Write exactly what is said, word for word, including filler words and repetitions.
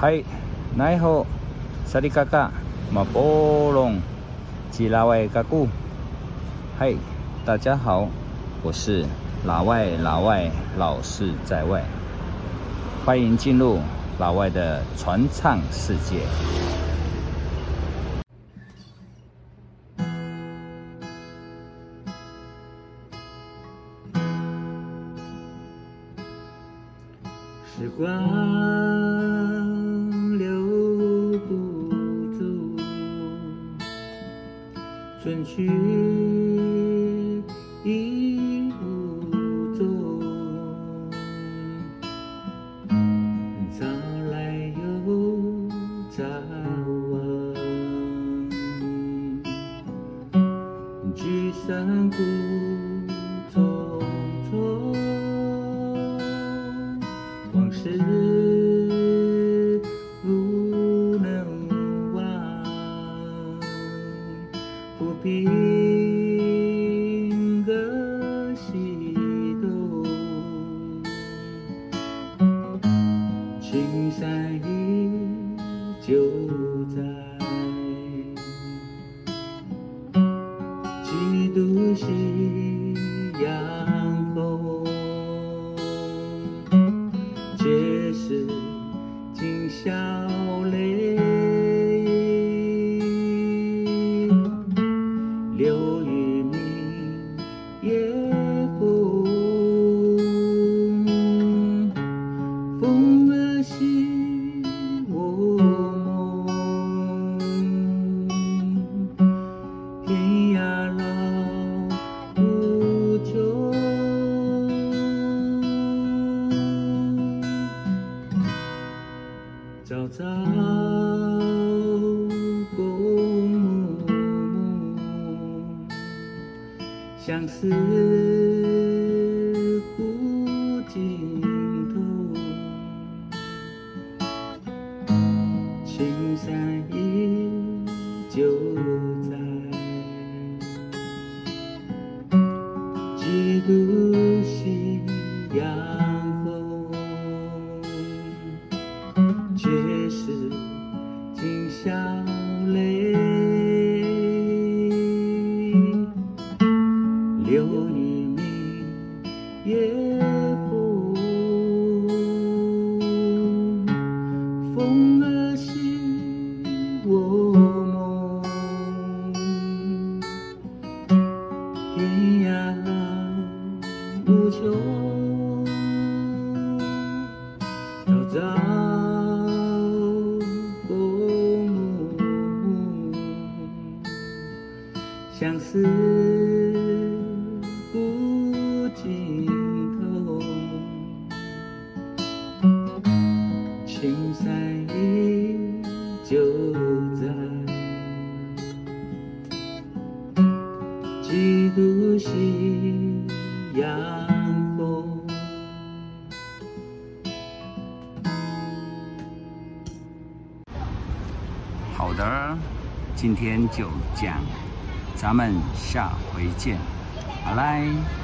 嗨，奈好，萨利嘎嘎，马波隆，吉拉外嘎古。嗨，大家好，我是老外，老外老是在外，欢迎进入老外的传唱世界。 时光留不住，春去已无踪，早来又早往，聚散故匆匆。往事不能忘，不必个西东，青山依旧在，几度夕阳红。皆是今宵泪，流于明夜风，风儿系我梦，天涯老无穷。朝朝共暮，相思不尽头。青山依旧在，几度夕阳红。皆是今宵泪，流于明夜风，风儿系我梦，天涯无穷，朝朝相思不尽头，青山依旧在，几度夕阳红。 好的，今天就这样。咱们下回见，拜拜。